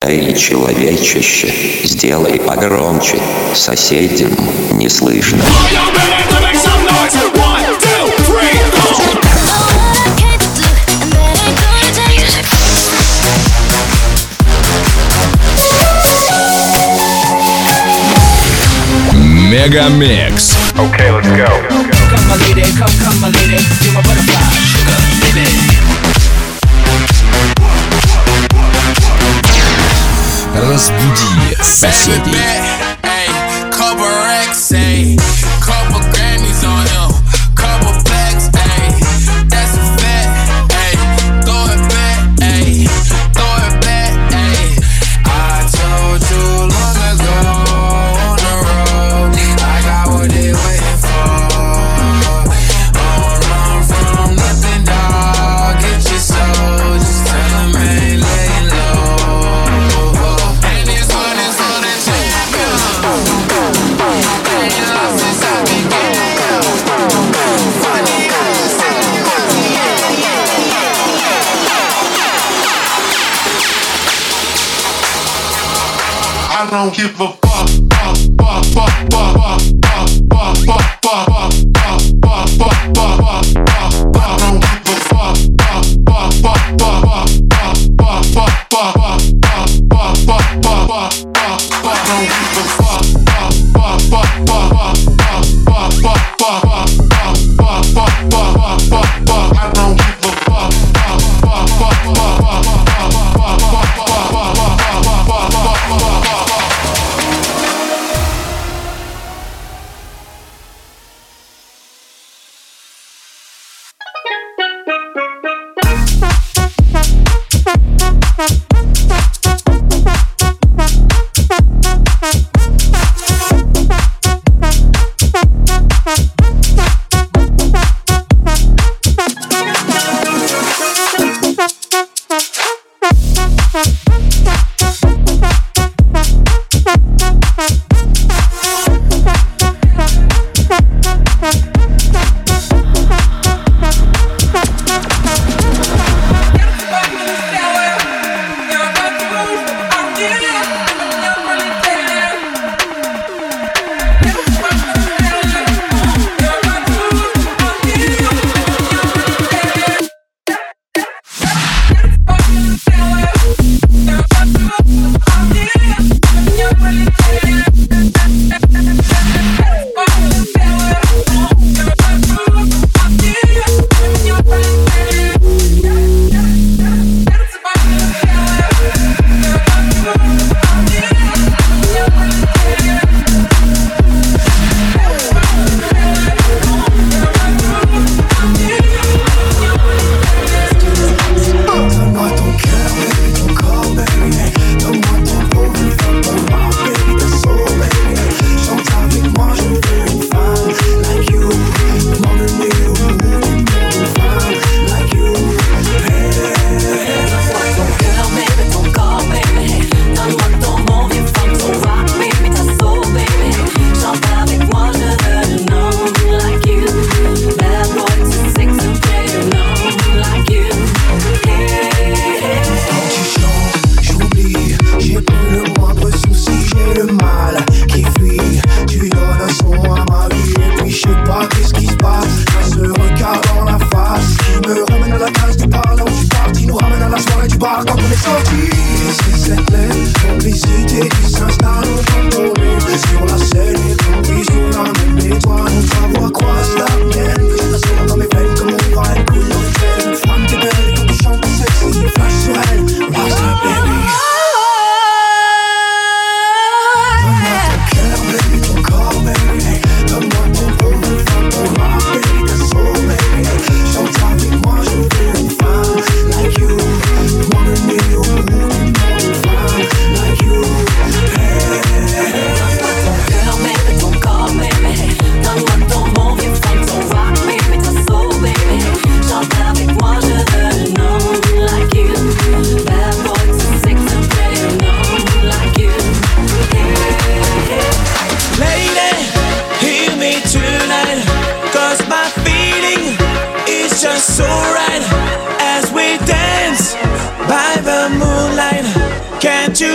Эй, человечище, сделай погромче, соседям не слышно. Мегамикс. Okay, let's go. Come my lady, come my lady, you're my butterfly, sugar, baby. Разбуди соседей. Couple racks, ayy. Couple Grammys on him. Couple plaques, ayy. That's a fact, ayy. Throw it back, ayy. Throw it back, ayy. I told you long ago on the road, I got what they waiting for. Don't run from nothing, dog. Get your soul. Just tell them ain't laying low. And this one is for the champion. I don't give a fuck.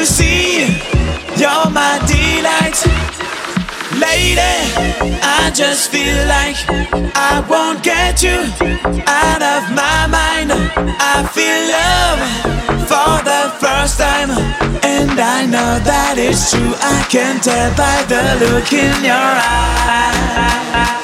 you see, you're my delight. Lady, I just feel like I won't get you out of my mind. I feel love for the first time, and I know that it's true. I can tell by the look in your eye.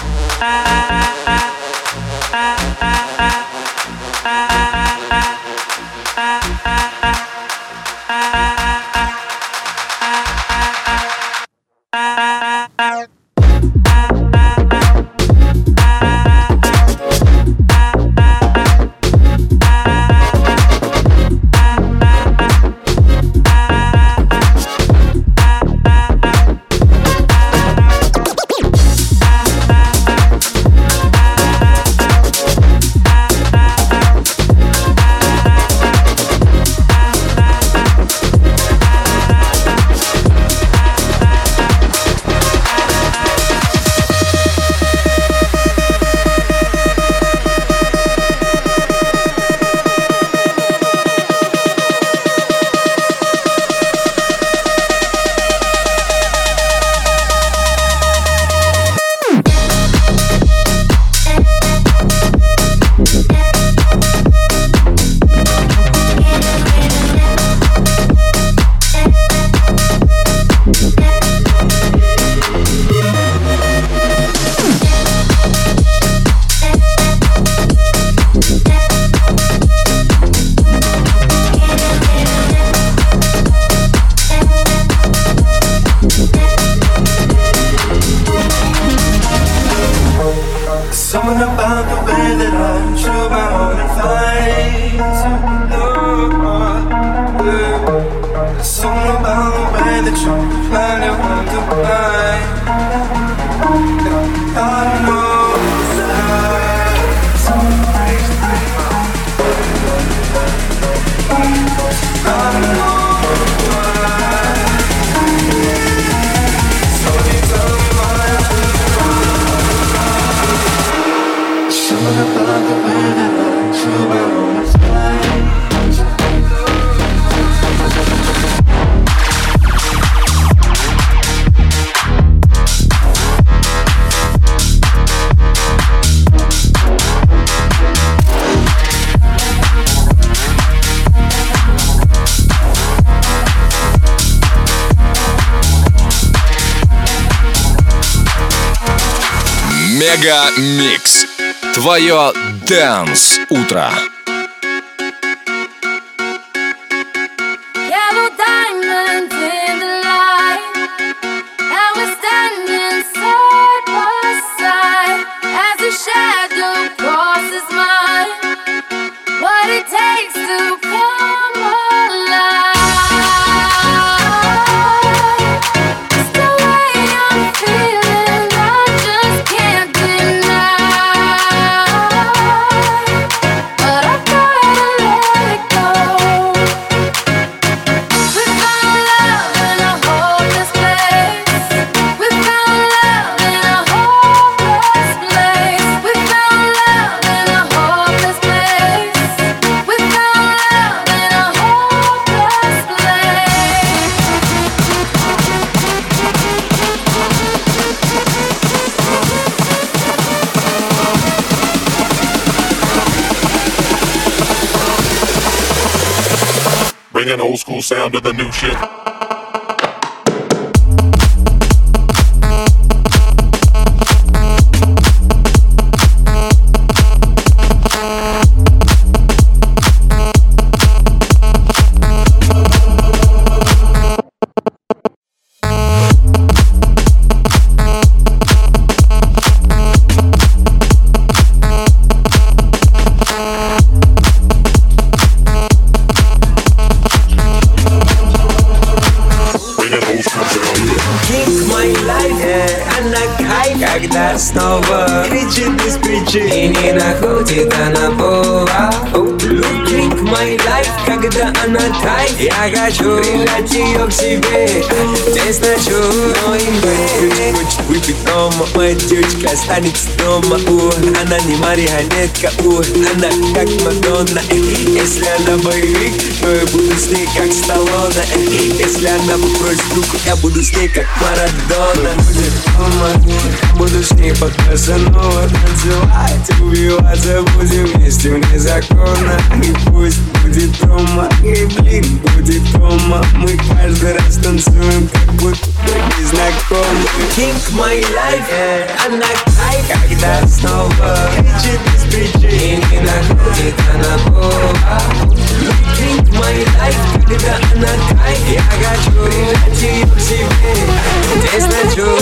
Something about the way that I'm true, my own and find There's something about the way that you plan it wonder why. I don't know something breaks my mind. I don't know why. So you tell me why I'm something about the way that I'm true, my own is Мега Микс. Твое Dance утро. Yellow diamonds in the light, and we're standing side by side as a shadow crosses mine. What it takes to come alive. It's the way I'm feeling, I just can't deny. But I've gotta let it go. We found love in a hopeless place. We found love in a hopeless place. We found love in a hopeless place. We found love in a hopeless place. Bring an old school sound to the new shit. Когда снова кричит без причины, находит она повод. Look, my life, когда она тает, Я хочу прижать ее к себе, здесь ночу, но и хочет выпить дома. Моя девочка останется дома, она не марионетка, она как Мадонна. Если она боевик, то я буду с ней как Сталлоне. Если она попросит руку, я буду с ней как Марадона. Будет дома, буду с ней под Казанова танцевать, убиваться будем вместе вне закона. И пусть будет дома, и блин, будет дома. Мы каждый раз танцуем, как будто мы не знакомы. King my life, она кайф, когда снова кричит без причин и не находит она повод. King my life, когда она кайф, я хочу прижать ее к себе, здесь ночу.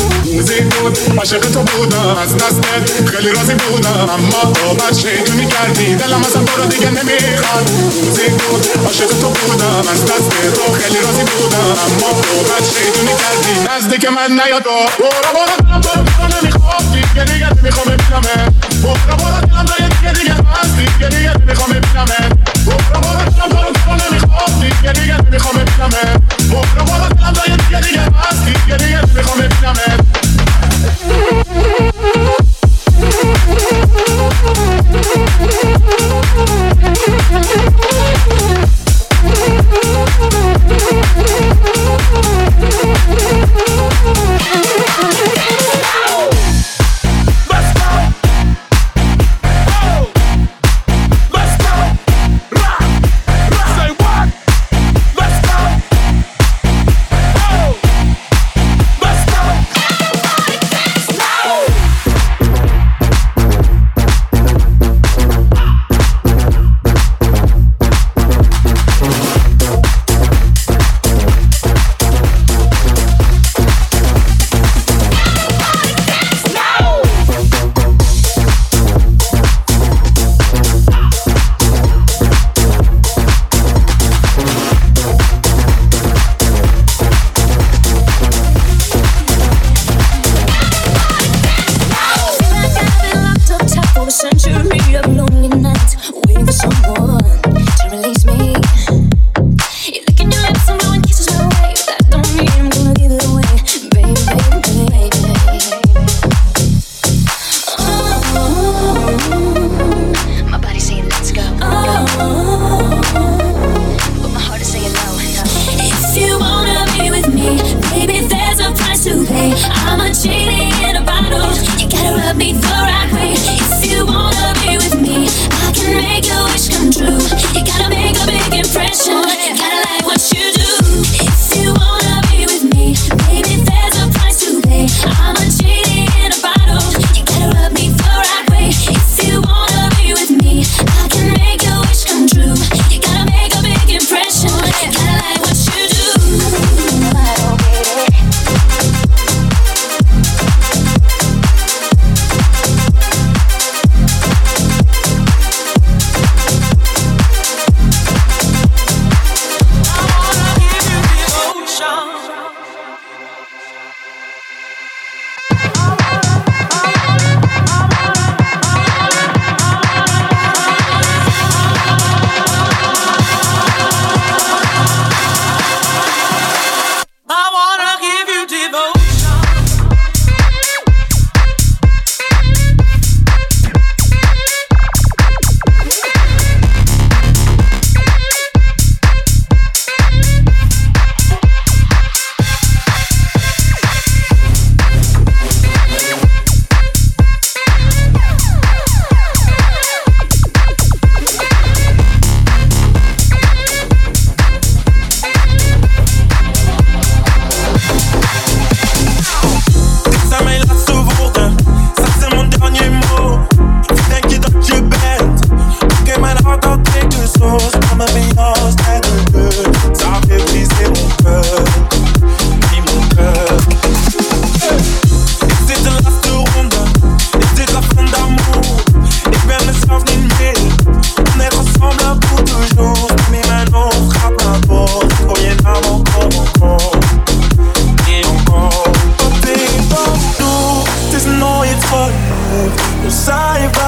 زیبود عاشق تو بودم از دستت خیلی راضی بودم اما تو بعد شیطونی کردی دلم ازم تو رو دیگه نمیخواد زیبود عاشق تو بودم از دست تو خیلی راضی بودم اما تو بعد شیطونی کردی نزدیک من نیا تو برو برو دلم تو رو نمیخواد دیگه نمیخوام ببینمت برو برو دلم تو دیگه هست دیگه نمیخوام ببینمت برو برو دلم تو رو نمیخواد دیگه نمیخوام ببینمت برو برو دلم تو دیگه هست دیگه نمیخوام ببینمت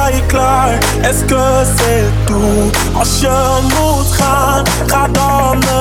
Est-ce que c'est tout? Als je moet gaan, ga dan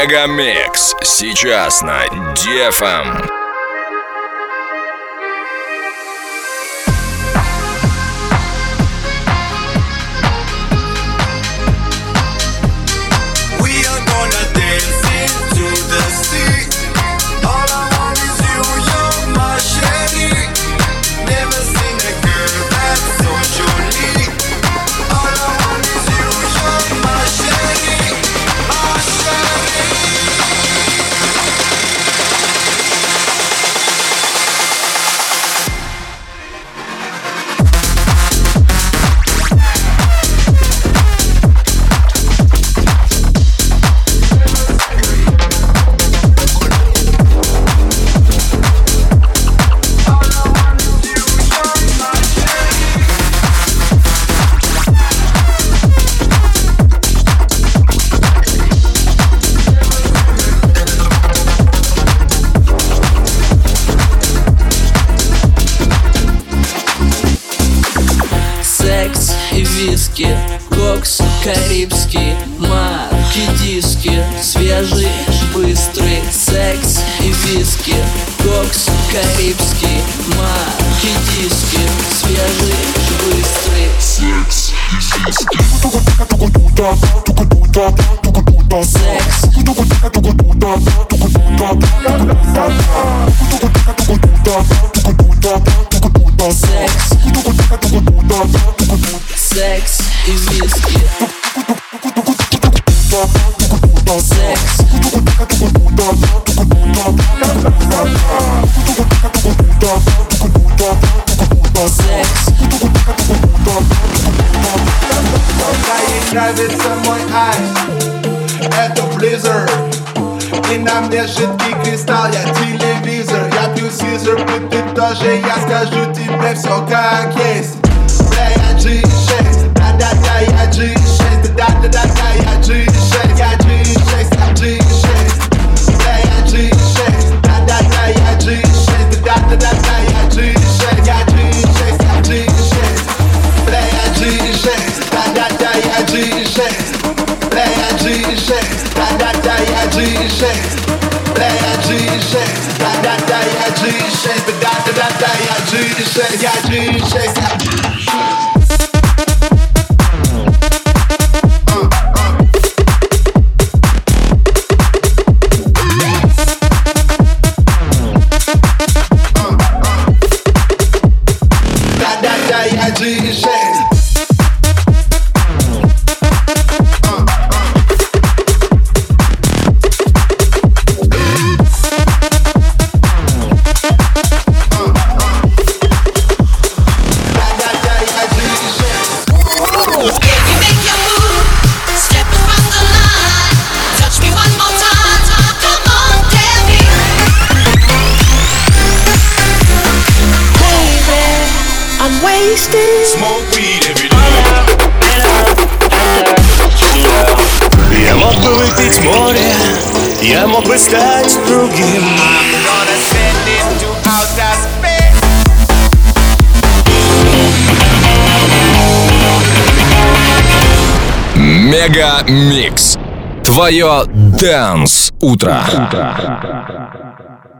Мегамикс сейчас на DFM. Кокс, карибский, марки, диски, свежий, быстрый, секс и виски. Кокс, карибский, марки, диски, свежий, быстрый, секс и виски. Секс и виски. Секс. Ей нравится мой айс, это Blizzard. И на мне жидкий кристалл, я телевизор. Я пью сизер, ты тоже, я скажу тебе все как есть. Бля, я G6, да-да-да, я G6, да-да-да, я G6, я G6, я G6. Бля, я G6, да-да-да, я G6, да-да-да, я G6, я G6, я G6. Бля, я G6, да-да-да, я G6. Бля, я G6, да-да-да, я G6. Бля, я G6, да-да-да, я G6, да-да-да, я G6, я G6, я G6. Я мог бы выпить море, я мог бы стать другим. Мегамикс. Твое Dance утро.